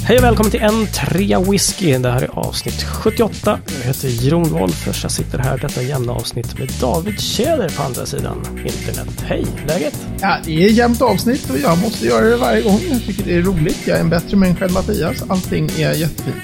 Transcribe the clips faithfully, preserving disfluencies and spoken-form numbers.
Hej och välkommen till en trea whisky. Det här är avsnitt sjuttioåtta. Jag heter Jon Wolffers. Jag sitter här detta jämna avsnitt med David Tjäder på andra sidan internet. Hej, läget? Ja, det är jämnt avsnitt och jag måste göra det varje gång. Jag tycker det är roligt. Jag är en bättre människa än Mattias. Allting är jättefint.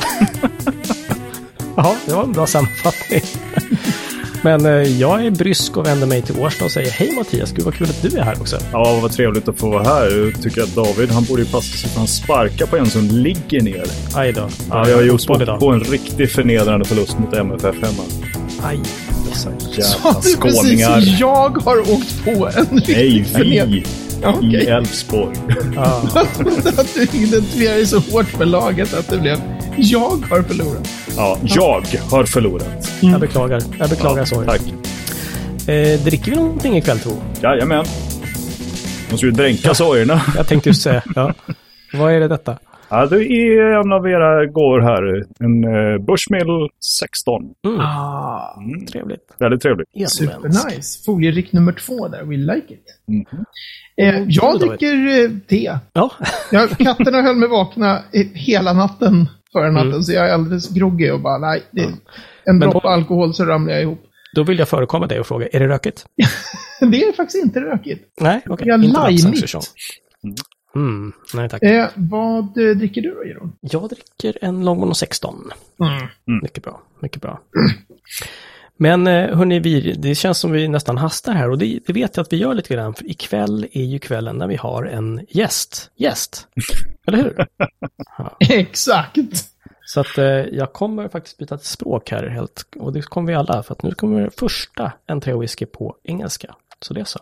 Ja, det var en bra sammanfattning. Men eh, jag är brysk och vänder mig till Årsta och säger hej Mattias, gud vad kul att du är här också. Ja, vad trevligt att få vara här. Jag tycker att David, han borde ju passa sig för han sparkar på en som ligger ner. Aj då. Ja, jag har gjort på, på en riktigt förnedrande förlust mot M F F hemma. Aj. Så jävla Så du skåningar. precis, jag har åkt på en riktigt Nej, vi okay. i Älvsborg. Ja. Att du identifierar dig så hårt med laget att det blev jag har förlorat. Ja, jag har förlorat. Mm. Jag beklagar. Jag beklagar ja, så. Tack. Eh, dricker vi någonting ikväll, tro? Jajamän. Måste ju dränka ja. sorgerna. Jag tänkte just säga, ja. Vad är det detta? Ja, det är en av era går här. En uh, Bushmill sexton. Mm. Ah, mm. Trevligt. Väldigt trevligt. Super nice. Folierick nummer två där. We like it. Mm. Eh, jag dricker eh, te. Ja. jag, katterna höll mig vakna hela natten förra natten. Mm. Så jag är alldeles groggy och bara, nej. Det är en droppe alkohol så ramlar jag ihop. Då vill jag förekomma dig och fråga, är det rökigt? Det är faktiskt inte rökigt. Nej, okej. Okay. Jag lajmigt. Mm, nej tack. Eh, vad eh, dricker du då, Jeroen? Jag dricker en Longmorn sexton. Mm. Mm. Mycket bra, mycket bra. Men hörni, vi, det känns som vi nästan hastar här och det, det vet jag att vi gör lite grann. För ikväll är ju kvällen när vi har en gäst. Gäst, eller hur? Ja. Exakt. Så att eh, jag kommer faktiskt byta ett språk här helt, och det kommer vi alla, för att nu kommer första en trea whisky på engelska. Så det är så.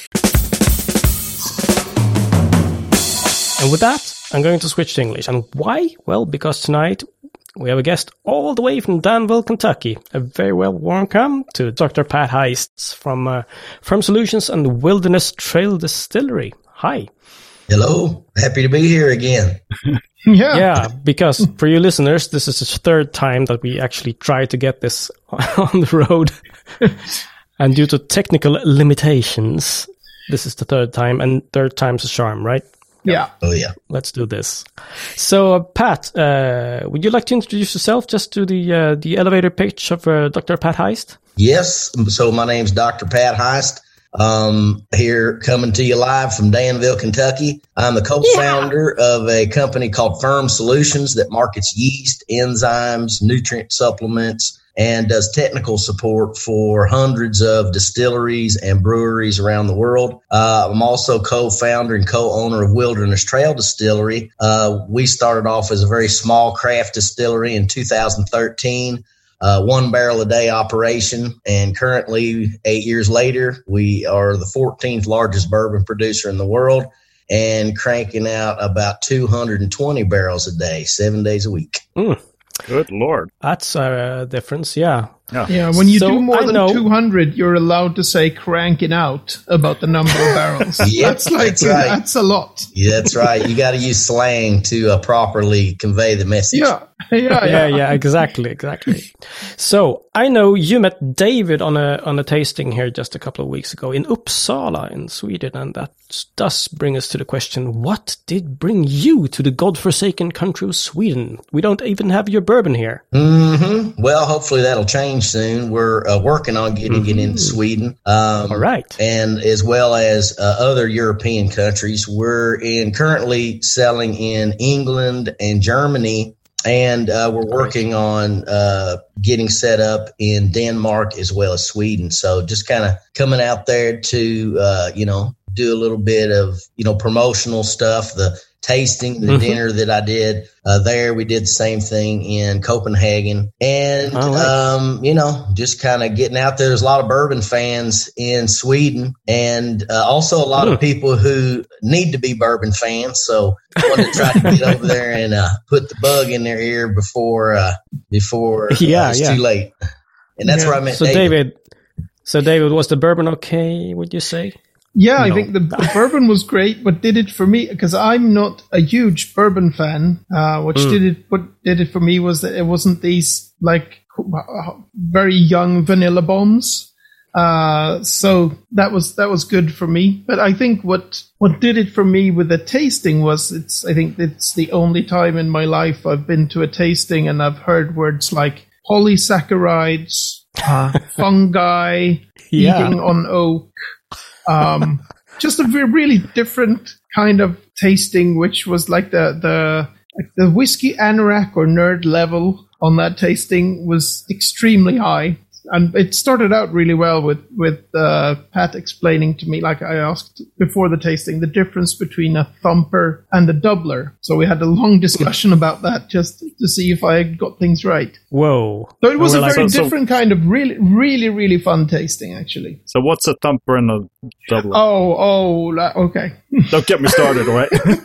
And with that, I'm going to switch to English. And why? Well, because tonight we have a guest all the way from Danville, Kentucky. A very well welcome to Doctor Pat Heist from uh, Firm Solutions and Wilderness Trail Distillery. Hi. Hello. Happy to be here again. Yeah. Yeah, because for you listeners, this is the third time that we actually try to get this on the road. And due to technical limitations, this is the third time, and third time's a charm, right? Yeah. Oh, yeah. Let's do this. So, uh, Pat, uh, would you like to introduce yourself just to the uh, the elevator pitch of uh, Doctor Pat Heist? Yes. So my name's Doctor Pat Heist. Um, here coming to you live from Danville, Kentucky. I'm the co-founder yeah. of a company called Firm Solutions that markets yeast, enzymes, nutrient supplements, and does technical support for hundreds of distilleries and breweries around the world. Uh, I'm also co-founder and co-owner of Wilderness Trail Distillery. Uh, we started off as a very small craft distillery in two thousand thirteen. Uh, one barrel a day operation, and currently, eight years later, we are the fourteenth largest bourbon producer in the world and cranking out about two hundred twenty barrels a day, seven days a week. Mm. Good Lord. That's a difference, yeah. Yeah, yeah when you so do more I than know. two hundred, you're allowed to say cranking out about the number of barrels. Yep, that's like, that's right. That's a lot. Yeah, that's right. You got to use slang to uh, properly convey the message. Yeah. Yeah, yeah, yeah, exactly, exactly. So I know you met David on a on a tasting here just a couple of weeks ago in Uppsala in Sweden, and that does bring us to the question: what did bring you to the godforsaken country of Sweden? We don't even have your bourbon here. Mm-hmm. Well, hopefully that'll change soon. We're uh, working on getting mm-hmm. it into Sweden, um, all right, and as well as uh, other European countries. We're in currently selling in England and Germany. And uh, we're working on uh, getting set up in Denmark as well as Sweden. So just kind of coming out there to, uh, you know, do a little bit of, you know, promotional stuff. The tasting, the mm-hmm. dinner that I did uh, there, we did the same thing in Copenhagen. And, right. um, you know, just kind of getting out there. There's a lot of bourbon fans in Sweden and uh, also a lot mm. of people who need to be bourbon fans. So I wanted to try to get over there and uh, put the bug in their ear before uh, before yeah, uh, it's yeah. too late. And that's yeah. where I met so David. David. So David, was the bourbon okay, would you say? Yeah, no. I think the, the bourbon was great. What did it for me, because I'm not a huge bourbon fan, uh, which mm. did it, what did it for me was that it wasn't these like very young vanilla bombs. Uh, so that was that was good for me. But I think what what did it for me with the tasting was it's I think it's the only time in my life I've been to a tasting and I've heard words like polysaccharides, uh, fungi, Yeah. eating on oak. Um, just a ve- really different kind of tasting, which was like the the like the whiskey anorak or nerd level on that tasting was extremely high. And it started out really well with, with uh, Pat explaining to me, like I asked before the tasting, the difference between a thumper and a doubler. So we had a long discussion about that just to see if I got things right. Whoa. So it was We're a like- very So- so- different kind of really, really, really fun tasting, actually. So what's a thumper and a doubler? Oh, oh, la- okay. Don't get me started, all right?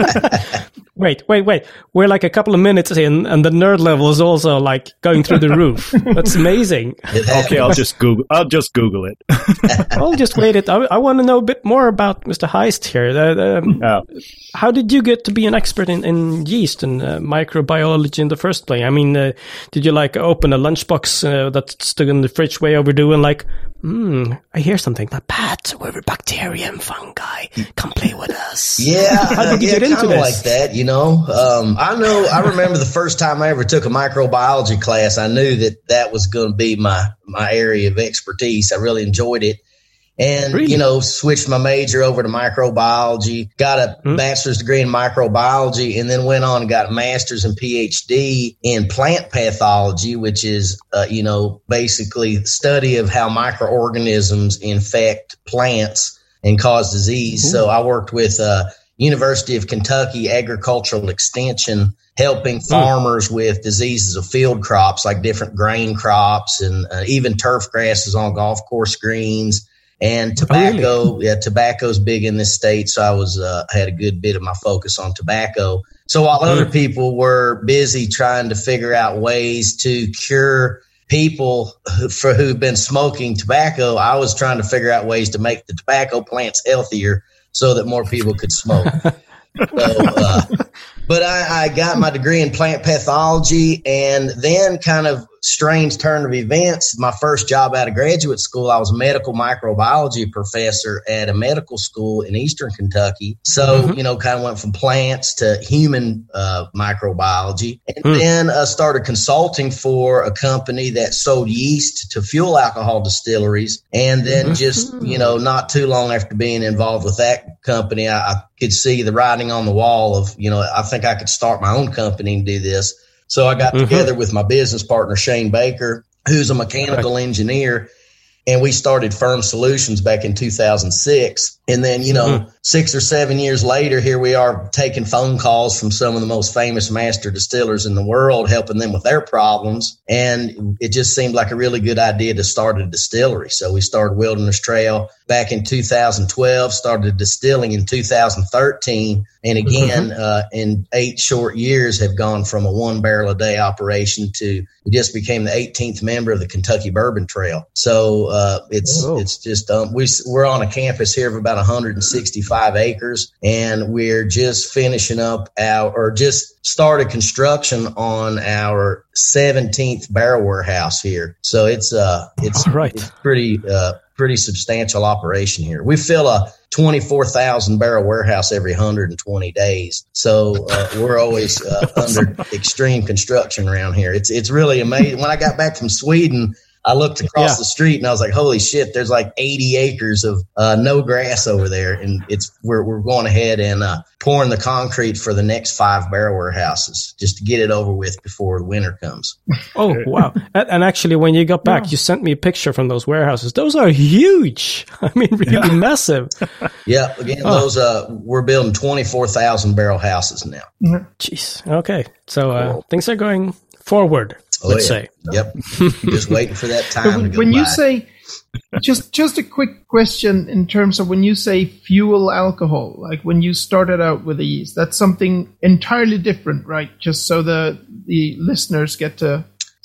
Wait, wait, wait. We're like a couple of minutes in, and the nerd level is also like going through the roof. That's amazing. It happens. Okay, I'll just Google. I'll just Google it. I'll just wait it. I, I want to know a bit more about Mister Heist here. The, um, Yeah. how did you get to be an expert in, in yeast and uh, microbiology in the first place? I mean, uh, did you like open a lunchbox uh, that stood in the fridge way overdue and like, hmm, I hear something. But Pat, we're bacteria and fungi. Come play with us. Yeah, How did you yeah, get into kinda this? like that, you know. Um, I know. I remember the first time I ever took a microbiology class. I knew that that was going to be my my area of expertise. I really enjoyed it, and Really? you know, switched my major over to microbiology. Got a Hmm. bachelor's degree in microbiology, and then went on and got a master's and PhD in plant pathology, which is uh, you know basically the study of how microorganisms infect plants and cause disease. So I worked with uh, University of Kentucky Agricultural Extension, helping farmers with diseases of field crops like different grain crops and uh, even turf grasses on golf course greens. And tobacco, yeah, tobacco's big in this state, so I was uh, had a good bit of my focus on tobacco. So while other people were busy trying to figure out ways to cure people who, for who've been smoking tobacco, I was trying to figure out ways to make the tobacco plants healthier so that more people could smoke. So, uh, but I, I got my degree in plant pathology, and then kind of strange turn of events. My first job out of graduate school, I was a medical microbiology professor at a medical school in Eastern Kentucky. So, mm-hmm. you know, kind of went from plants to human uh, microbiology, and mm. then uh, started consulting for a company that sold yeast to fuel alcohol distilleries. And then mm-hmm. just, you know, not too long after being involved with that company, I, I could see the writing on the wall of, you know, I think I could start my own company and do this. So I got mm-hmm. together with my business partner, Shane Baker, who's a mechanical engineer, and we started Firm Solutions back in two thousand six. And then, you know, mm-hmm. six or seven years later, here we are taking phone calls from some of the most famous master distillers in the world, helping them with their problems. And it just seemed like a really good idea to start a distillery. So we started Wilderness Trail back in two thousand twelve, started distilling in two thousand thirteen. And again, mm-hmm. uh, in eight short years have gone from a one barrel a day operation to we just became the eighteenth member of the Kentucky Bourbon Trail. So uh, it's Whoa. it's just um, we, we're on a campus here of about one hundred sixty-five acres, and we're just finishing up our or just started construction on our seventeenth barrel warehouse here. So it's uh it's, right. it's pretty uh pretty substantial operation here. We fill a twenty-four thousand barrel warehouse every one hundred twenty days. So uh, we're always uh, under extreme construction around here. It's it's really amazing. When I got back from Sweden, I looked across yeah. the street and I was like, holy shit, there's like eighty acres of uh, no grass over there. And it's we're we're going ahead and uh, pouring the concrete for the next five barrel warehouses just to get it over with before the winter comes. Oh, wow. And, and actually, when you got back, yeah. you sent me a picture from those warehouses. Those are huge. I mean, really yeah. massive. Yeah. Again, oh. those uh, we're building twenty-four thousand barrel houses now. Jeez. Okay. So uh, cool. things are going forward. Oh, let's yeah. say. Yep. Just waiting for that time to go When by. you say, just just a quick question in terms of when you say fuel alcohol, like when you started out with the yeast, that's something entirely different, right? Just so the the listeners get to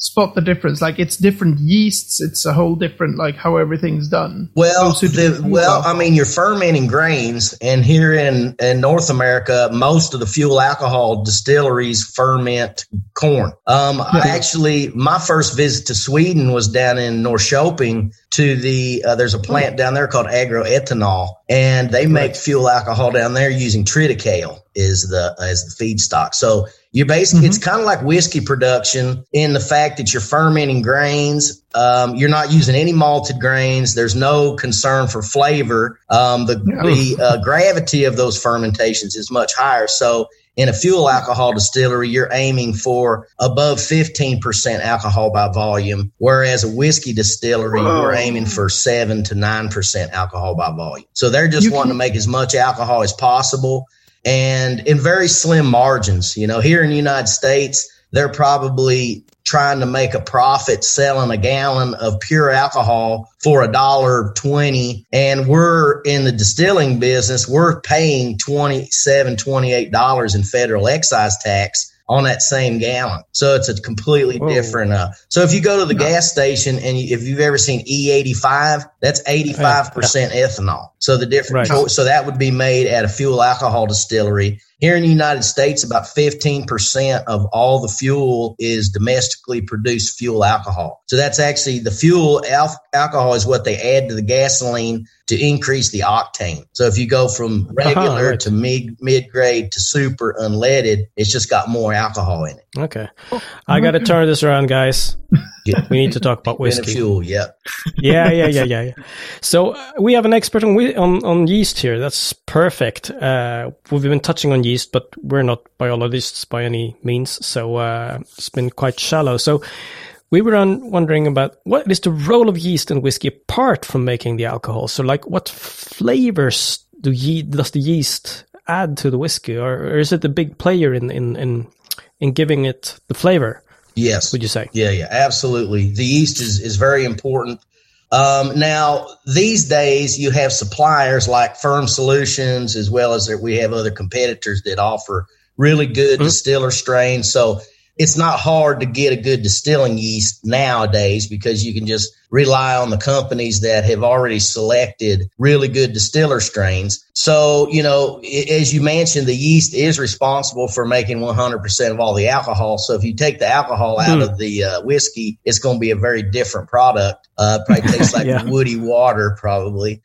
spot the difference? Like, it's different yeasts. It's a whole different, like, how everything's done. Well, the, well, I mean, you're fermenting grains, and here in, in North America, most of the fuel alcohol distilleries ferment corn. Um, yeah. I actually, my first visit to Sweden was down in Norrköping to the, uh, there's a plant down there called Agroethanol, and they make right. fuel alcohol down there using triticale is the, as the feedstock. So you basically, mm-hmm. it's kind of like whiskey production in the fact that you're fermenting grains. Um, you're not using any malted grains. There's no concern for flavor. Um, the, yeah. the uh, gravity of those fermentations is much higher. So in a fuel alcohol distillery, you're aiming for above fifteen percent alcohol by volume, whereas a whiskey distillery, Whoa. we're aiming for seven to nine percent alcohol by volume. So they're just you wanting can- to make as much alcohol as possible, and in very slim margins. You know, here in the United States, they're probably trying to make a profit selling a gallon of pure alcohol for a dollar twenty, and we're in the distilling business. We're paying twenty-seven, twenty-eight dollars in federal excise tax on that same gallon. So it's a completely Whoa. different. Uh, so if you go to the no. gas station and you, if you've ever seen E eighty-five, that's eighty-five percent yeah. ethanol. So the different, right. so that would be made at a fuel alcohol distillery. Here in the United States, about fifteen percent of all the fuel is domestically produced fuel alcohol. So that's actually the fuel al- alcohol is what they add to the gasoline to increase the octane. So if you go from regular uh-huh, right. to mid mid grade to super unleaded, it's just got more alcohol in it. Okay, I got to turn this around, guys. Yeah. We need to talk about whiskey. Fuel, yeah. yeah, yeah, yeah, yeah, yeah. So uh, we have an expert on, on on yeast here. That's perfect. Uh, we've been touching on yeast, but we're not biologists by any means. So uh, it's been quite shallow. So we were on wondering about what is the role of yeast in whiskey apart from making the alcohol. So, like, what flavors do ye- does the yeast add to the whiskey, or, or is it a big player in in in, in giving it the flavor? Yes. Would you say? Yeah, yeah, absolutely. The yeast is, is very important. Um, now, these days, you have suppliers like Firm Solutions, as well as we have other competitors that offer really good mm-hmm. distiller strains. So it's not hard to get a good distilling yeast nowadays because you can just rely on the companies that have already selected really good distiller strains. So, you know, as you mentioned, the yeast is responsible for making one hundred percent of all the alcohol. So if you take the alcohol out mm. of the uh, whiskey, it's going to be a very different product. Uh, probably tastes like yeah. woody water, probably.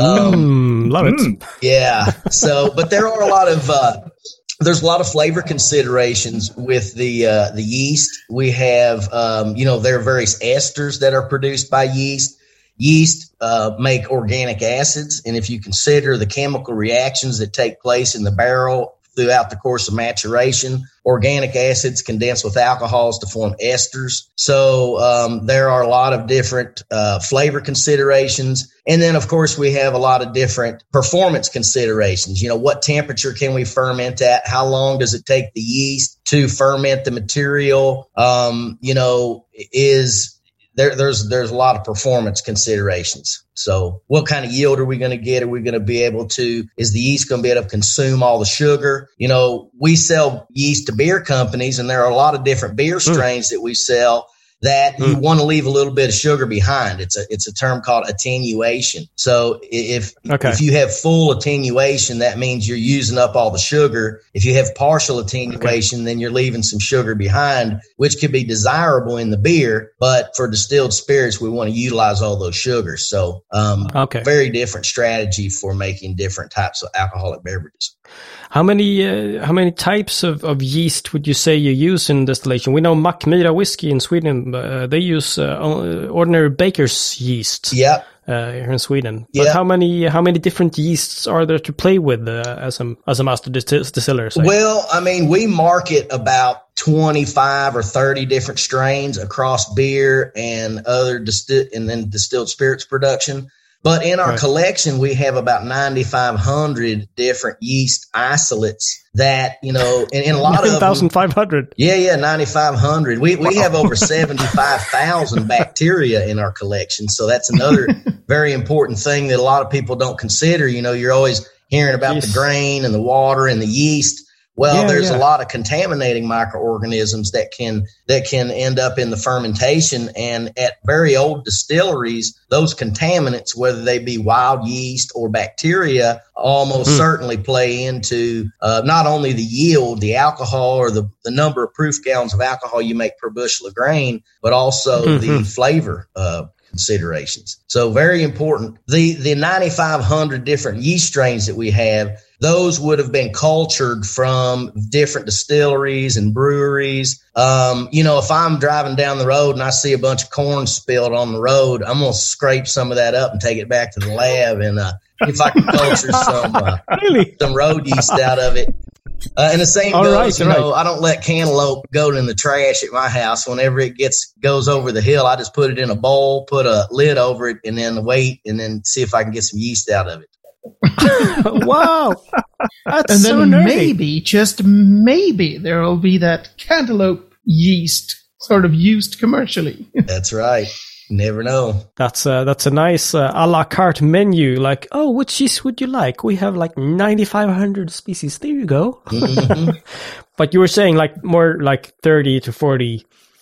Um, mm, love it. Yeah. So, but there are a lot of, uh, There's a lot of flavor considerations with the uh, the yeast. We have, um, you know, there are various esters that are produced by yeast. Yeast uh, make organic acids, and if you consider the chemical reactions that take place in the barrel throughout the course of maturation, organic acids condense with alcohols to form esters. So um, there are a lot of different uh, flavor considerations. And then, of course, we have a lot of different performance considerations. You know, what temperature can we ferment at? How long does it take the yeast to ferment the material? Um, you know, is there, there's there's a lot of performance considerations. So what kind of yield are we going to get? Are we going to be able to, is the yeast going to be able to consume all the sugar? You know, we sell yeast to beer companies, and there are a lot of different beer strains mm. that we sell that mm. you want to leave a little bit of sugar behind. It's a it's a term called attenuation. So if okay. if you have full attenuation, that means you're using up all the sugar. If you have partial attenuation, okay. then you're leaving some sugar behind, which could be desirable in the beer. But for distilled spirits, we want to utilize all those sugars. So um, okay. very different strategy for making different types of alcoholic beverages. How many uh, how many types of, of yeast would you say you use in distillation? We know Mackmyra whiskey in Sweden, uh, they use uh, ordinary baker's yeast. Yeah. Uh, here in Sweden, but yeah. how many how many different yeasts are there to play with uh, as a as a master distil- distiller? Say? Well, I mean, we market about twenty-five or thirty different strains across beer and other disti- and then distilled spirits production. But in our right. collection, we have about ninety-five hundred different yeast isolates that, you know, and, and a lot of nine thousand five hundred. Yeah, yeah, ninety-five hundred. We we have over seventy-five thousand bacteria in our collection. So that's another very important thing that a lot of people don't consider. You know, you're always hearing about yes. the grain and the water and the yeast. Well, Yeah, there's yeah. a lot of contaminating microorganisms that can that can end up in the fermentation. And at very old distilleries, those contaminants, whether they be wild yeast or bacteria, almost Mm. certainly play into uh, not only the yield, the alcohol, or the, the number of proof gallons of alcohol you make per bushel of grain, but also Mhm. the flavor uh, considerations. So very important. The the ninety-five hundred different yeast strains that we have, those would have been cultured from different distilleries and breweries. Um, you know, if I'm driving down the road and I see a bunch of corn spilled on the road, I'm going to scrape some of that up and take it back to the lab and uh, if I can culture some uh, Really? some road yeast out of it. Uh, and the same All goes, right, you all know, I don't let cantaloupe go in the trash at my house. Whenever it gets goes over the hill, I just put it in a bowl, put a lid over it, and then wait, and then see if I can get some yeast out of it. Wow. That's And so then nerdy. maybe, just maybe, there will be that cantaloupe yeast sort of used commercially. That's right. You never know. That's a, that's a nice uh, a la carte menu. Like, oh, which cheese would you like? We have like ninety-five hundred species. There you go. Mhm. But you were saying like more like thirty to forty,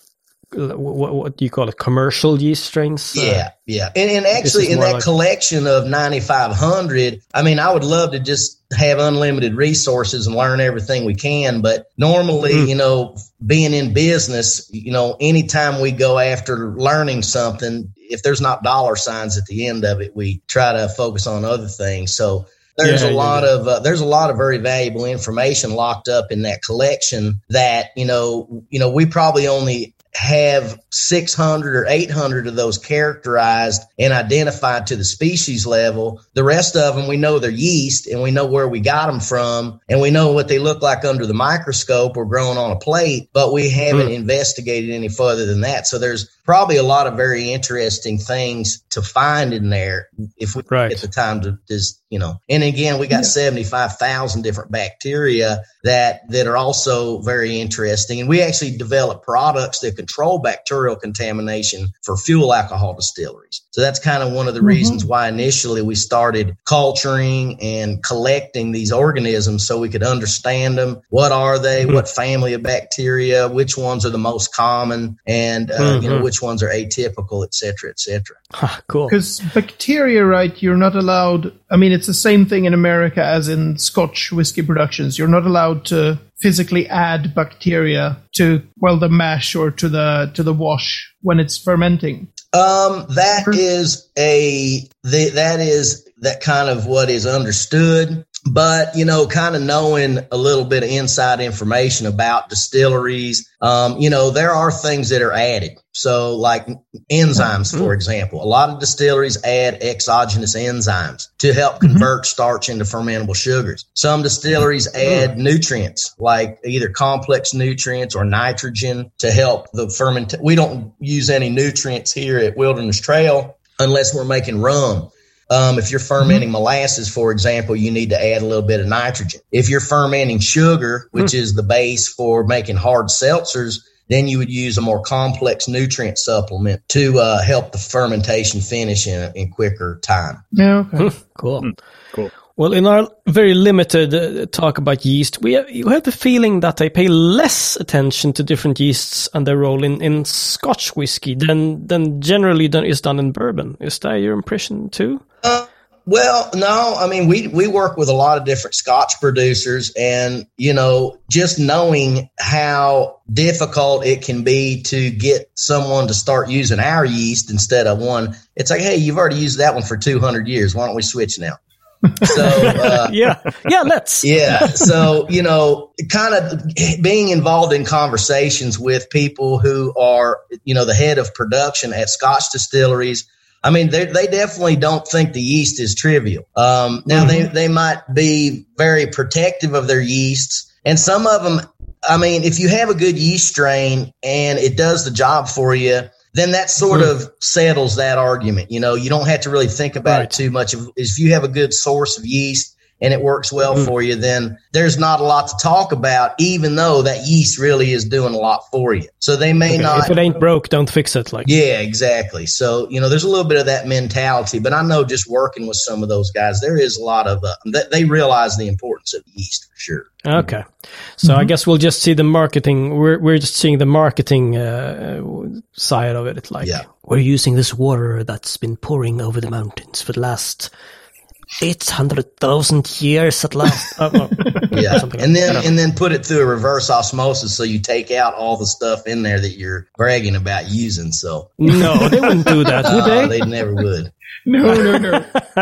what, what do you call it? Commercial yeast strains? Uh, Yeah, yeah. And, and This actually, is in more that like- collection of ninety-five hundred, I mean, I would love to just have unlimited resources and learn everything we can. But normally, Mm. you know, being in business, you know, anytime we go after learning something, if there's not dollar signs at the end of it, we try to focus on other things. So there's Yeah, a yeah, lot yeah. of uh, there's a lot of very valuable information locked up in that collection that, you know, you know, we probably only have six hundred or eight hundred of those characterized and identified to the species level. The rest of them, we know they're yeast and we know where we got them from and we know what they look like under the microscope or growing on a plate, but we haven't Mm. investigated any further than that. So there's probably a lot of very interesting things to find in there if we Right. get the time to just, you know, and again, we got Yeah. seventy-five thousand different bacteria that, that are also very interesting. And we actually develop products that control bacterial contamination for fuel alcohol distilleries. So that's kind of one of the Mhm. reasons why initially we started culturing and collecting these organisms so we could understand them. What are they? Mhm. What family of bacteria? Which ones are the most common? And, uh, you know, Mhm. which ones are atypical, et cetera, et cetera. Ha, cool. Because bacteria, right, you're not allowed, I mean, it's the same thing in America as in Scotch whiskey productions. You're not allowed to physically add bacteria to, well, the mash or to the to the wash when it's fermenting. Um, that is a the, that is that kind of what is understood. But, you know, kind of knowing a little bit of inside information about distilleries, um, you know, there are things that are added. So like enzymes, for example, a lot of distilleries add exogenous enzymes to help convert starch into fermentable sugars. Some distilleries add nutrients like either complex nutrients or nitrogen to help the ferment. We don't use any nutrients here at Wilderness Trail unless we're making rum. Um, if you're fermenting molasses, for example, you need to add a little bit of nitrogen. If you're fermenting sugar, which is the base for making hard seltzers, then you would use a more complex nutrient supplement to uh, help the fermentation finish in, in quicker time. Yeah, okay. Cool. Cool. Well, in our very limited uh, talk about yeast, we have, you have the feeling that they pay less attention to different yeasts and their role in, in Scotch whiskey than than generally done, is done in bourbon. Is that your impression too? Uh, well, no, I mean, we, we work with a lot of different Scotch producers and, you know, just knowing how difficult it can be to get someone to start using our yeast instead of one, it's like, hey, you've already used that one for two hundred years. Why don't we switch now? So, uh, Yeah, yeah, let's. yeah. So, you know, kind of being involved in conversations with people who are, you know, the head of production at Scotch distilleries. I mean, they they definitely don't think the yeast is trivial. Um, now, Mm-hmm. they, they might be very protective of their yeasts. And some of them, I mean, if you have a good yeast strain and it does the job for you, then that sort Mm. of settles that argument. You know, you don't have to really think about Right. it too much. If, if you have a good source of yeast and it works well mm. for you, then there's not a lot to talk about, even though that yeast really is doing a lot for you. So they may okay. not. If it ain't broke, don't fix it. Like Yeah, exactly. So, you know, there's a little bit of that mentality, but I know just working with some of those guys, there is a lot of, uh, they, they realize the importance of yeast for sure. Okay. So mm-hmm. I guess we'll just see the marketing. We're we're just seeing the marketing uh, side of it. It's like, yeah. we're using this water that's been pouring over the mountains for the last eight hundred thousand years at last. oh, oh. Yeah. Like and then and then put it through a reverse osmosis so you take out all the stuff in there that you're bragging about using. So no, they wouldn't do that, would they? Uh, they never would. No, no, no.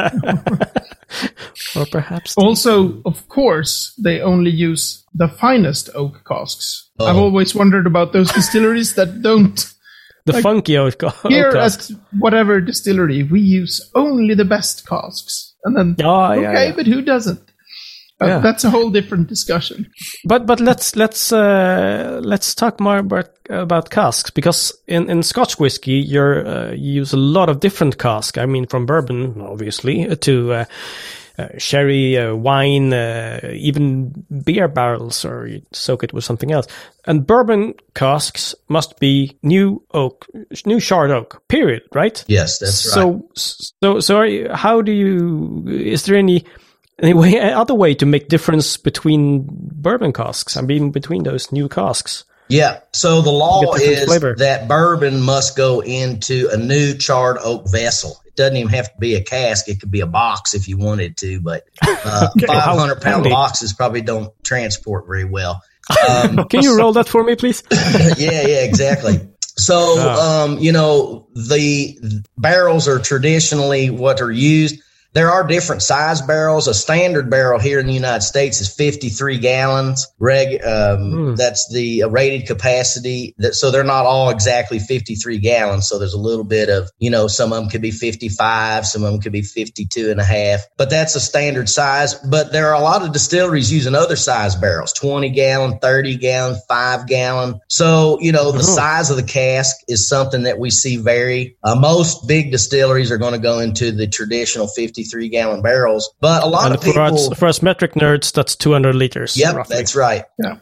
Or perhaps also, of course, they only use the finest oak casks. Oh. I've always wondered about those distilleries that don't. The like, funky oak, oak here casks. Here at whatever distillery, we use only the best casks. And then, oh, yeah, okay, yeah. but who doesn't? Uh, yeah. That's a whole different discussion. But but let's let's uh, let's talk more about about casks, because in, in Scotch whiskey you're uh, you use a lot of different casks. I mean, from bourbon obviously to uh, uh, sherry, uh, wine, uh, even beer barrels, or you soak it with something else. And bourbon casks must be new oak, new charred oak. Period. Right? Yes, that's so, right. So so so are you, how do you? Is there any Anyway, other way to make difference between bourbon casks, I mean, between those new casks? Yeah. So the law is flavor. that bourbon must go into a new charred oak vessel. It doesn't even have to be a cask. It could be a box if you wanted to, but uh, okay, five hundred pound boxes probably don't transport very well. Um, Can you roll that for me, please? yeah, yeah, exactly. So, oh. um, you know, the barrels are traditionally what are used. There are different size barrels. A standard barrel here in the United States is fifty-three gallons. Reg, um, mm. that's the uh, rated capacity. That, so they're not all exactly fifty-three gallons. So there's a little bit of, you know, some of them could be fifty-five, some of them could be fifty-two and a half, but that's a standard size. But there are a lot of distilleries using other size barrels, twenty gallon, thirty gallon, five gallon. So, you know, the mm-hmm. size of the cask is something that we see vary. Uh, most big distilleries are going to go into the traditional fifty Three gallon barrels, but a lot and of people. For us, for us metric nerds, that's two hundred liters. Yep, roughly. That's right. Yeah.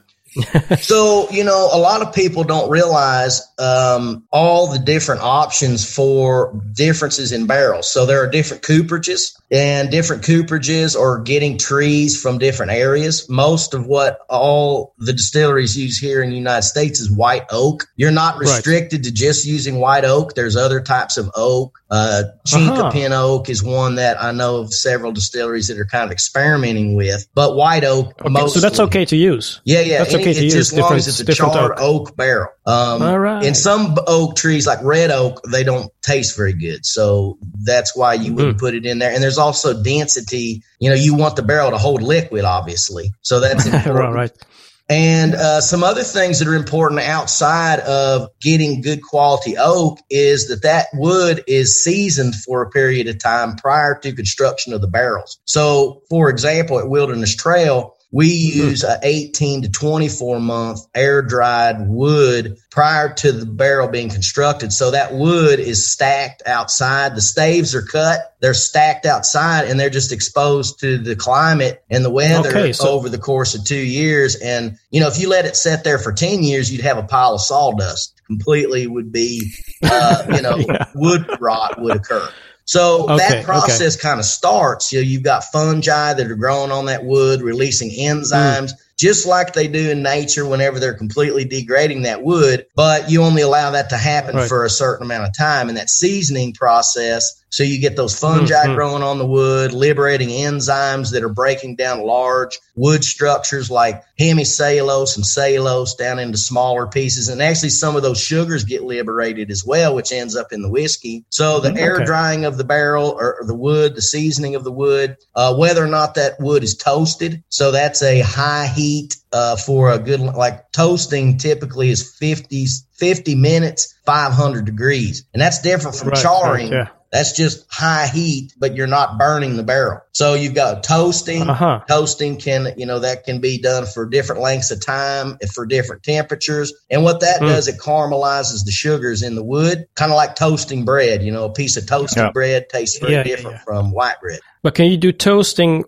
So, you know, a lot of people don't realize um, all the different options for differences in barrels. So there are different cooperages, and different cooperages are getting trees from different areas. Most of what all the distilleries use here in the United States is white oak. You're not restricted right. to just using white oak. There's other types of oak. Uh, Chinkapin uh-huh. oak is one that I know of several distilleries that are kind of experimenting with, but white oak okay, mostly. So that's okay to use. Yeah, yeah. That's okay it's to use. As long as it's a charred oak. oak barrel. Um, All right. And some oak trees, like red oak, they don't taste very good. So that's why you wouldn't mm. put it in there. And there's also density. You know, you want the barrel to hold liquid, obviously. So that's important. right. And uh, some other things that are important outside of getting good quality oak is that that wood is seasoned for a period of time prior to construction of the barrels. So, for example, at Wilderness Trail, we use an eighteen to twenty-four month air dried wood prior to the barrel being constructed. So that wood is stacked outside. The staves are cut. They're stacked outside, and they're just exposed to the climate and the weather okay, so- over the course of two years. And, you know, if you let it sit there for ten years, you'd have a pile of sawdust. Completely would be, uh, you know, yeah. wood rot would occur. So okay, that process okay. kind of starts. You know, you've got fungi that are growing on that wood, releasing enzymes, mm. just like they do in nature whenever they're completely degrading that wood. But you only allow that to happen right. for a certain amount of time. And that seasoning process, so you get those fungi mm-hmm. growing on the wood, liberating enzymes that are breaking down large wood structures like hemicellulose and cellulose down into smaller pieces. And actually some of those sugars get liberated as well, which ends up in the whiskey. So the okay. air drying of the barrel or, or the wood, the seasoning of the wood, uh, whether or not that wood is toasted. So that's a high heat uh, for a good, like toasting typically is fifty, fifty minutes, five hundred degrees. And that's different from right, charring. Right, yeah. That's just high heat, but you're not burning the barrel. So you've got toasting. Uh-huh. Toasting can, you know, that can be done for different lengths of time and for different temperatures. And what that mm. does, it caramelizes the sugars in the wood, kind of like toasting bread. You know, a piece of toasted yeah. bread tastes very yeah, different yeah, yeah. from white bread. But can you do toasting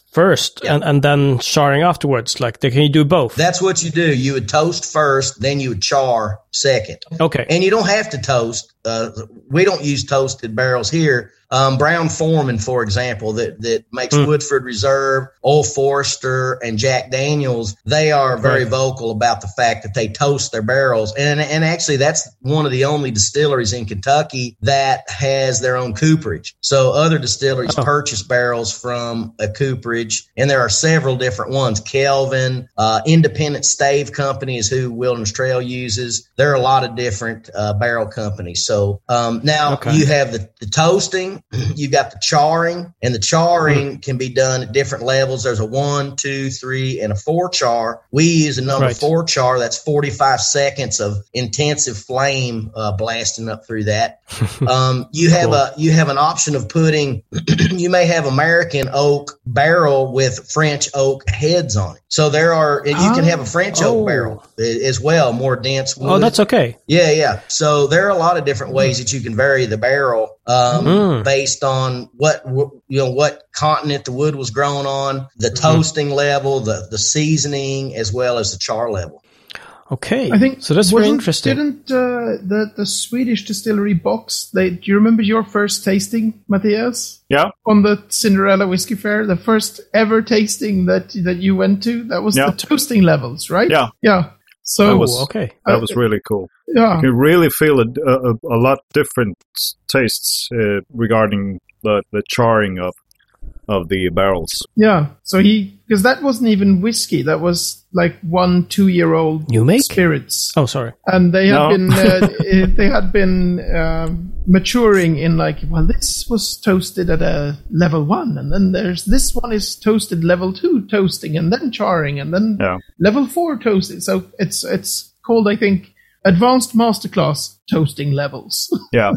first Yeah. and, and then charring afterwards? Like, can you do both? That's what you do. You would toast first, then you would char second. Okay. And you don't have to toast. Uh, we don't use toasted barrels here. Um, Brown Foreman, for example, that, that makes Mm. Woodford Reserve, Old Forester, and Jack Daniels, they are very Right. vocal about the fact that they toast their barrels. And, and actually, that's one of the only distilleries in Kentucky that has their own cooperage. So other distilleries Oh. purchase barrels from a cooperage, and there are several different ones. Kelvin, uh, Independent Stave Company is who Wilderness Trail uses. There are a lot of different uh, barrel companies. So um, now Okay. you have the, the toasting, you got the charring, and the charring Mm. can be done at different levels. There's a one, two, three, and a four char. We use a number Right. four char. That's forty-five seconds of intensive flame uh, blasting up through that. Um, you have Cool. a you have an option of putting. You may have American oak barrel with French oak heads on it. So there are, and you can have a French Oh. oak barrel a- as well, more dense wood. Oh, that's okay. Yeah, yeah. So there are a lot of different ways that you can vary the barrel um, Mm. based on what wh- you know what continent the wood was grown on, the toasting level, the the seasoning, as well as the char level. Okay. I think so. That's very wasn't- interesting. Didn't uh, the the Swedish distillery box? They do you remember your first tasting, Matthias, Yeah. on the Cinderella Whiskey Fair? The first ever tasting that that you went to. That was Yeah. the toasting levels, right? Yeah. yeah. So That Oh, was- okay. That was really cool. yeah, You really feel a, a, a lot different tastes uh, regarding the, the charring of of the barrels. yeah. So he because that wasn't even whiskey. That was like one two year old You make? spirits. Oh, sorry. And they had No. been uh, eh, they had been um, maturing in like, well, this was toasted at a level one, and then there's this one is toasted level two toasting, and then charring, and then Yeah. level four toasting. So it's it's called, I think, advanced masterclass toasting levels. Yeah,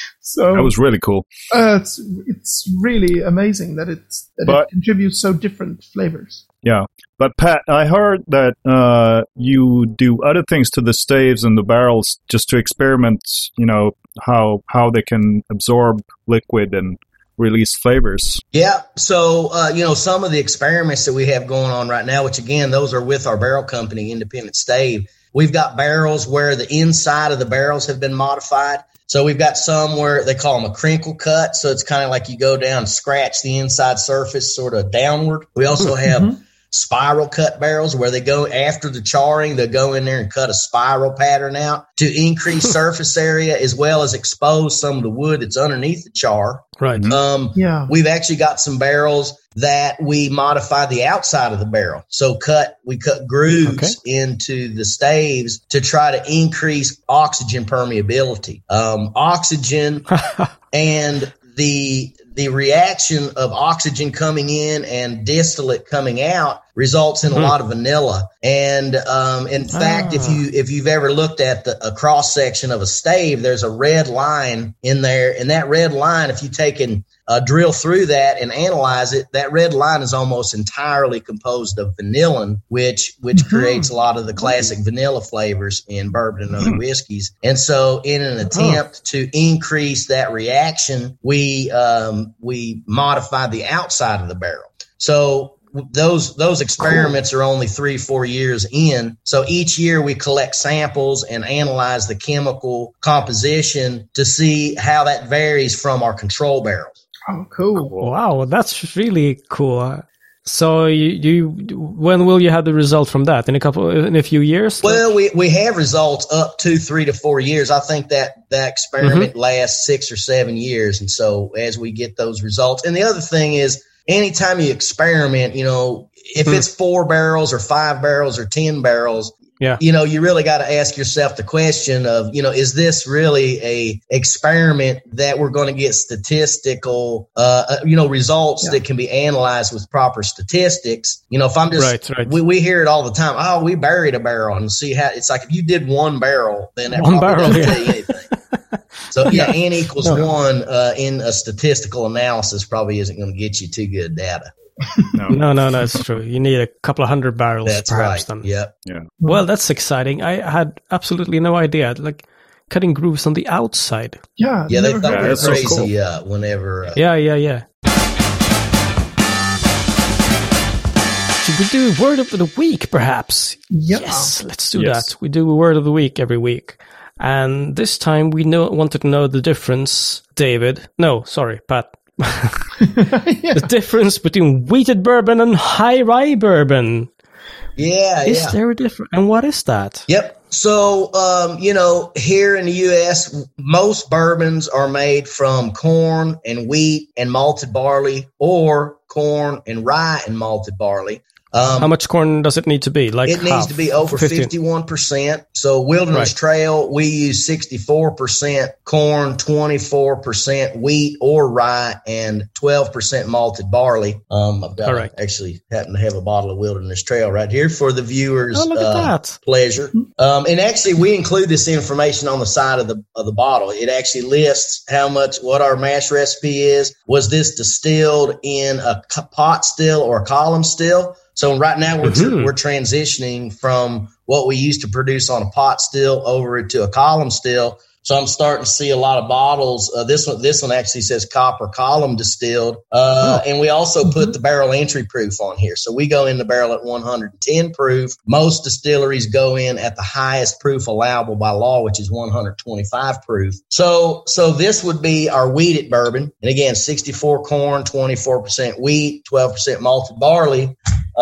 So that was really cool. uh, it's it's really amazing that it's that But- it contributes so different flavors. Yeah. But Pat, I heard that uh, you do other things to the staves and the barrels just to experiment, you know, how how they can absorb liquid and release flavors. Yeah. So, uh, you know, some of the experiments that we have going on right now, which again, those are with our barrel company, Independent Stave. We've got barrels where the inside of the barrels have been modified. So we've got some where they call them a crinkle cut. So it's kind of like you go down and scratch the inside surface sort of downward. We also have Mm-hmm. spiral cut barrels where they go after the charring, they'll go in there and cut a spiral pattern out to increase surface area as well as expose some of the wood that's underneath the char. Right. Um, Yeah. We've actually got some barrels that we modify the outside of the barrel. So cut, we cut grooves Okay. into the staves to try to increase oxygen permeability. Um, oxygen and the the reaction of oxygen coming in and distillate coming out results in a Hmm. lot of vanilla. And um, in fact, if Ah. you if you've ever looked at the, a cross section of a stave, there's a red line in there, and that red line, if you take and uh, drill through that and analyze it, that red line is almost entirely composed of vanillin, which which Mhm. creates a lot of the classic vanilla flavors in bourbon and other whiskeys. And so, in an attempt to increase that reaction, we um, we modify the outside of the barrel. So those those experiments are only three, four years in. So each year we collect samples and analyze the chemical composition to see how that varies from our control barrels. Oh, cool. Wow, that's really cool. So you, you, when will you have the result from that? In a couple, in a few years? Well, we, we have results up to three to four years. I think that that experiment lasts six or seven years. And so as we get those results, and the other thing is, anytime you experiment, you know, if Hmm. it's four barrels or five barrels or ten barrels, Yeah. you know, you really got to ask yourself the question of, you know, is this really a experiment that we're going to get statistical, uh, uh, you know, results Yeah. that can be analyzed with proper statistics? You know, if I'm just, Right, right. We, we hear it all the time. Oh, we buried a barrel, and see how it's like if you did one barrel, then that One probably barrel, doesn't yeah. tell you anything. So yeah, n equals No. one uh, in a statistical analysis probably isn't going to get you too good data. No. No, no, no, it's true. You need a couple of hundred barrels, That's perhaps. right. Then. Yep. Well, that's exciting. I had absolutely no idea. Like cutting grooves on the outside. Yeah. Yeah, they never thought heard we were that's so crazy cool. uh, whenever. Uh, Yeah, yeah, yeah. should we do word of the week, perhaps? Yeah. Yes, let's do Yes. that. We do a word of the week every week. And this time we know, wanted to know the difference, David. No, sorry, Pat. The difference between wheated bourbon and high rye bourbon. Yeah, Is yeah. there a difference? And what is that? Yep. So, um, you know, here in the U S, most bourbons are made from corn and wheat and malted barley, or corn and rye and malted barley. Um, How much corn does it need to be? Like it needs half, to be over fifteen? fifty-one percent. So Wilderness Right. Trail, we use sixty-four percent corn, twenty-four percent wheat or rye, and twelve percent malted barley. Um, I've got Correct. actually happen to have a bottle of Wilderness Trail right here for the viewers' Oh, look at uh, that. pleasure. Um, and actually, we include this information on the side of the of the bottle. It actually lists how much, what our mash recipe is. Was this distilled in a c- pot still or a column still? So right now we're tr- Mhm. we're transitioning from what we used to produce on a pot still over to a column still. So I'm starting to see a lot of bottles. Uh, this one, this one actually says copper column distilled, uh, and we also put the barrel entry proof on here. So we go in the barrel at one hundred ten proof. Most distilleries go in at the highest proof allowable by law, which is one hundred twenty-five proof. So, so this would be our wheated bourbon, and again, sixty-four corn, twenty-four percent wheat, twelve percent malted barley.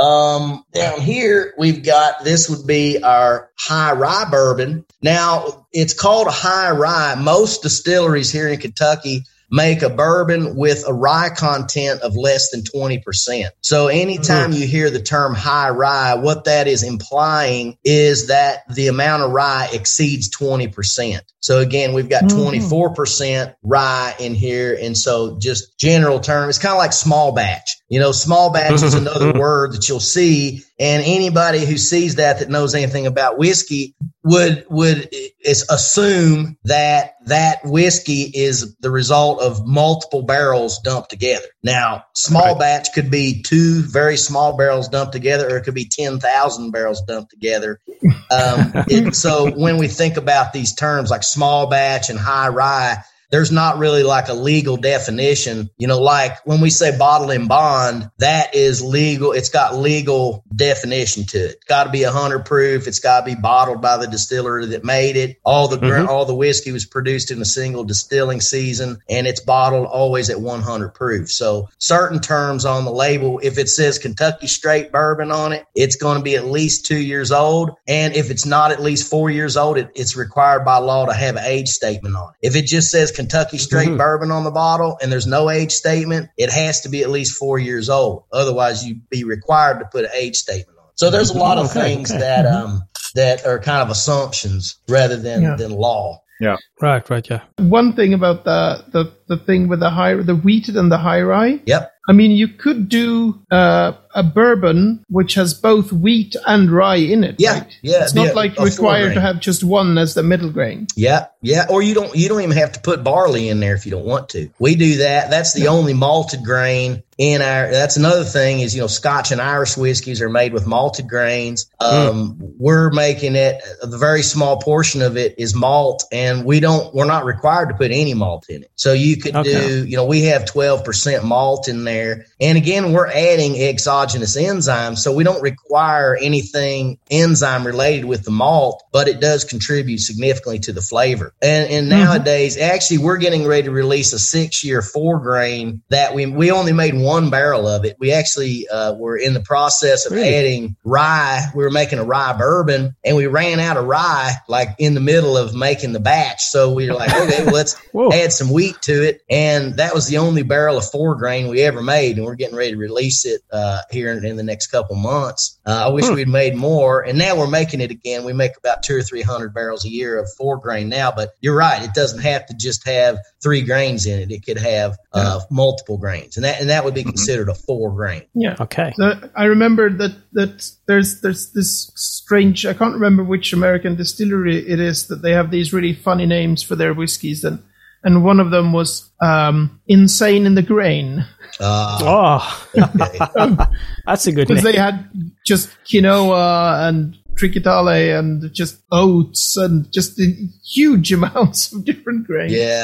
Um, down here, we've got, this would be our high rye bourbon. Now, it's called a high rye. Most distilleries here in Kentucky make a bourbon with a rye content of less than twenty percent. So anytime you hear the term high rye, what that is implying is that the amount of rye exceeds twenty percent. So again, we've got twenty-four percent rye in here. And so just general term, it's kind of like small batch. You know, small batch is another word that you'll see. And anybody who sees that, that knows anything about whiskey would, would is assume that that whiskey is the result of multiple barrels dumped together. Now, small Right. batch could be two very small barrels dumped together, or it could be ten thousand barrels dumped together. Um, it, so when we think about these terms like small batch and high rye, there's not really like a legal definition. You know, like when we say bottle and bond, that is legal. It's got legal definition to it. It's got to be one hundred proof. It's got to be bottled by the distillery that made it. All the mm-hmm. all the whiskey was produced in a single distilling season, and it's bottled always at one hundred proof. So certain terms on the label, if it says Kentucky Straight Bourbon on it, it's going to be at least two years old. And if it's not at least four years old, it, it's required by law to have an age statement on it. If it just says Kentucky Straight mm-hmm. Bourbon on the bottle and there's no age statement, it has to be at least four years old. Otherwise, you'd be required to put an age statement on it. So there's a lot of okay, things okay. that um that are kind of assumptions rather than, Yeah. than law. Yeah. Right, right, yeah. One thing about the, the, the thing with the high, the wheated and the high rye. Yep. I mean, you could do uh, a bourbon which has both wheat and rye in it. Yeah, right? yeah, It's not yeah, like a required to four-grain. have just one as the middle grain. Yeah, yeah. Or you don't you don't even have to put barley in there if you don't want to. We do that. That's the only malted grain in our. That's another thing is, you know, Scotch and Irish whiskeys are made with malted grains. Um, mm. We're making it. A very small portion of it is malt, and we don't. We're not required to put any malt in it. So you could Okay. do. You know, we have twelve percent malt in there, and again, we're adding exogenous enzymes, so we don't require anything enzyme related with the malt, but it does contribute significantly to the flavor. And, and nowadays, mm-hmm. actually, we're getting ready to release a six-year four grain that we we only made one barrel of it. We actually uh, were in the process of Really? adding rye. We were making a rye bourbon, and we ran out of rye like in the middle of making the batch. So we were like, okay, well, let's Whoa. add some wheat to it. And that was the only barrel of four grain we ever made, and we're getting ready to release it uh, here in, in the next couple months. Uh, I wish Hmm. we'd made more, and now we're making it again. We make about two or three hundred barrels a year of four grain now, but you're right; it doesn't have to just have three grains in it. It could have uh, multiple grains, and that and that would be considered a four grain. Yeah. Okay. So I remember that that there's there's this strange. I can't remember which American distillery it is that they have these really funny names for their whiskeys, and and one of them was um, Insane in the Grain. Uh, Oh, okay. that's a good Because name. they had just quinoa and trichitale and just oats and just huge amounts of different grains. Yeah,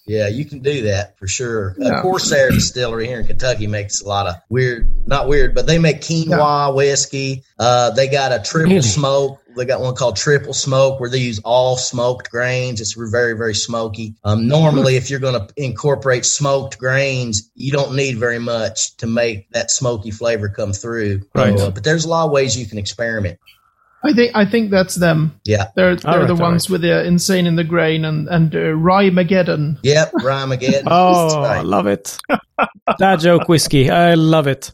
Yeah, you can do that for sure. Yeah. Uh, Corsair Distillery here in Kentucky makes a lot of weird, not weird, but they make quinoa yeah. whiskey. Uh, they got a triple really? smoke. They got one called Triple Smoke where they use all smoked grains. It's very, very smoky. Um, normally, if you're going to incorporate smoked grains, you don't need very much to make that smoky flavor come through. Right. Uh, but there's a lot of ways you can experiment. I think I think that's them. Yeah, they're they're right, the ones right. with the Insane in the Grain and and uh, Rye-mageddon. Yep, Rye-mageddon. Oh, I love it. Dad joke whiskey. I love it.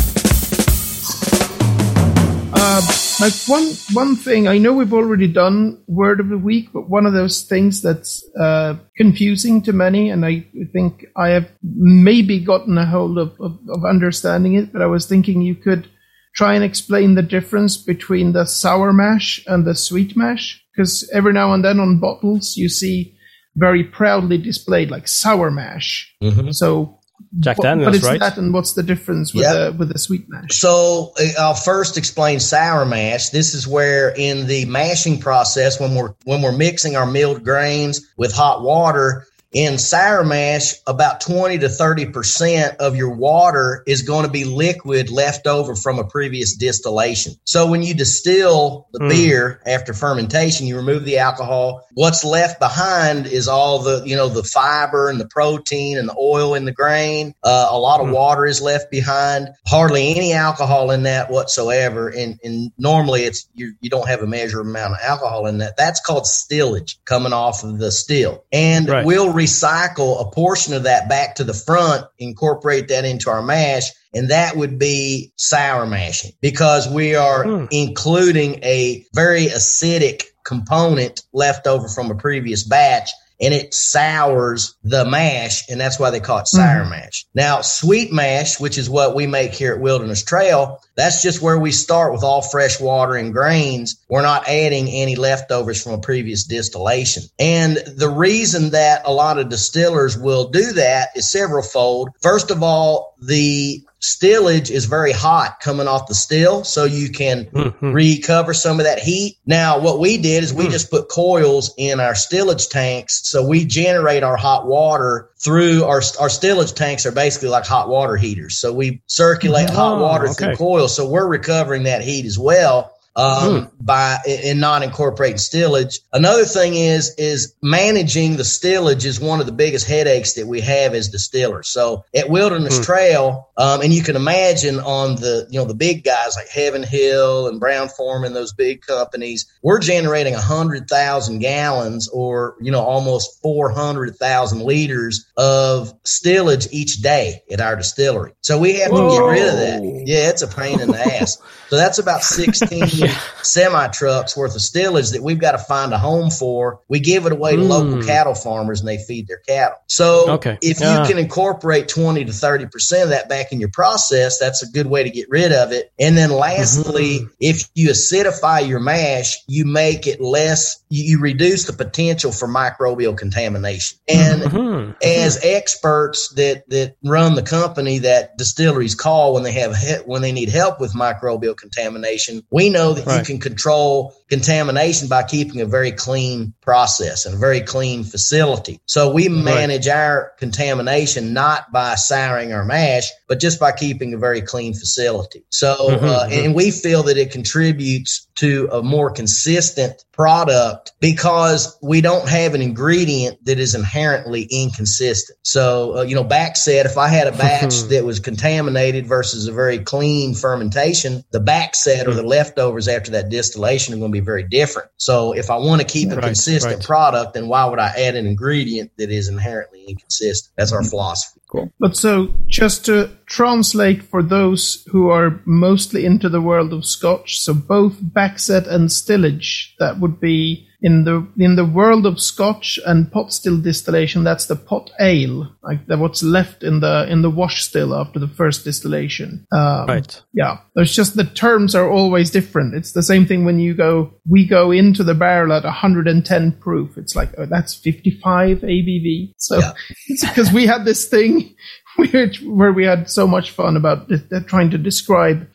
Uh, like one one thing, I know we've already done Word of the Week, but one of those things that's uh, confusing to many, and I think I have maybe gotten a hold of, of, of understanding it, but I was thinking you could try and explain the difference between the sour mash and the sweet mash, because every now and then on bottles you see very proudly displayed like sour mash. Mm-hmm. So Jack what, Daniels, what is right? that, and what's the difference with Yep. the with the sweet mash? So uh, I'll first explain sour mash. This is where in the mashing process, when we're when we're mixing our milled grains with hot water, in sour mash, about twenty to thirty percent of your water is going to be liquid left over from a previous distillation. So when you distill the mm. beer after fermentation, you remove the alcohol. What's left behind is all the, you know, the fiber and the protein and the oil in the grain. Uh, a lot of mm. water is left behind. Hardly any alcohol in that whatsoever. And, and normally it's you, you don't have a measured amount of alcohol in that. That's called stillage coming off of the still. And right. we'll recycle a portion of that back to the front, incorporate that into our mash, and that would be sour mashing because we are mm. including a very acidic component left over from a previous batch, and it sours the mash, and that's why they call it sour mm. mash. Now, sweet mash, which is what we make here at Wilderness Trail, that's just where we start with all fresh water and grains. We're not adding any leftovers from a previous distillation. And the reason that a lot of distillers will do that is several-fold. First of all, the stillage is very hot coming off the still, so you can mm-hmm. recover some of that heat. Now, what we did is we mm. just put coils in our stillage tanks, so we generate our hot water through our our stillage tanks are basically like hot water heaters. So we circulate oh, hot water okay. through coils, so we're recovering that heat as well. Um, mm. by in not incorporating stillage. Another thing is is managing the stillage is one of the biggest headaches that we have as distillers. So at Wilderness mm. Trail, um, and you can imagine on the you know the big guys like Heaven Hill and Brown-Forman, those big companies, we're generating a hundred thousand gallons or you know almost four hundred thousand liters of stillage each day at our distillery. So we have Whoa. to get rid of that. Yeah, it's a pain in the ass. So that's about sixteen yeah. semi trucks worth of stillage that we've got to find a home for. We give it away to mm. local cattle farmers and they feed their cattle. So okay. if yeah. you can incorporate twenty to thirty percent of that back in your process, that's a good way to get rid of it. And then lastly, mm-hmm. if you acidify your mash, you make it less, you, you reduce the potential for microbial contamination. And mm-hmm. as experts that, that run the company that distilleries call when they have he- when they need help with microbial contamination, we know that right. you can control contamination by keeping a very clean process and a very clean facility. So we manage right. our contamination not by souring our mash, but just by keeping a very clean facility. So, mm-hmm, uh, mm-hmm. and we feel that it contributes to a more consistent product because we don't have an ingredient that is inherently inconsistent. So, uh, you know, back said, if I had a batch that was contaminated versus a very clean fermentation, the back set or the leftovers after that distillation are going to be very different. So if I want to keep a right, consistent right. product, then why would I add an ingredient that is inherently inconsistent? That's our philosophy. Cool. But so just to translate for those who are mostly into the world of Scotch, so both backset and stillage, that would be in the in the world of Scotch and pot still distillation, that's the pot ale, like the, what's left in the in the wash still after the first distillation. Um, right. Yeah. It's just the terms are always different. It's the same thing when you go, we go into the barrel at one hundred ten proof. It's like, oh, that's fifty-five A B V. So yeah. It's because we had this thing where we had so much fun about trying to describe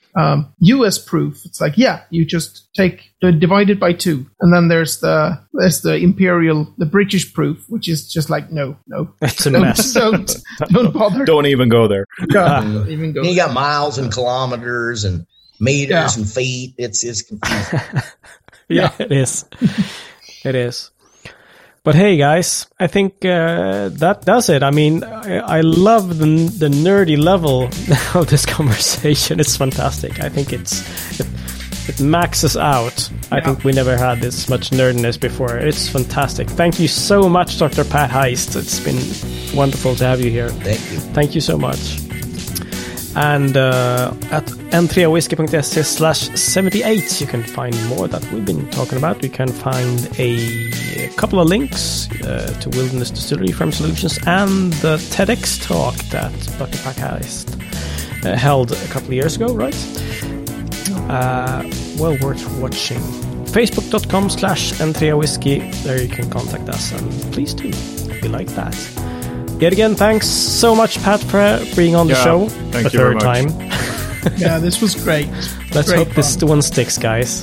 um, U S proof. It's like, yeah, you just take uh, divide it by two, and then there's the there's the imperial, the British proof, which is just like no, no, It's a don't, mess. don't don't bother. Don't even go there. Yeah, don't even go. You got miles and kilometers and meters Yeah. and feet. It's it's confusing. Yeah, it is. It is. But hey, guys, I think uh, that does it. I mean, I, I love the the nerdy level of this conversation. It's fantastic. I think it's it, it maxes out. I Yeah. think we never had this much nerdiness before. It's fantastic. Thank you so much, Doctor Pat Heist. It's been wonderful to have you here. Thank you. Thank you so much. And uh, at n three whiskey dot se slash seventy-eight, you can find more that we've been talking about. You can find a, a couple of links uh, to Wilderness Distillery Farm Solutions and the TEDx talk that Doctor Pat Heist uh, held a couple of years ago, right? Uh, well worth watching. Facebook.com slash n three whiskey. There you can contact us, and please do. We like that. Yet again, thanks so much, Pat, for being on the Yeah, show thank a you very third much. time. Yeah, this was great. Let's Great hope this fun. one sticks, guys.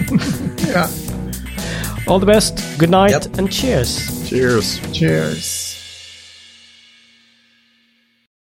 Yeah. All the best, good night, Yep. and cheers. Cheers. Cheers.